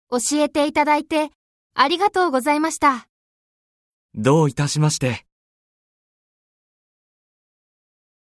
教えていただいてありがとうございました。 どういたしまして。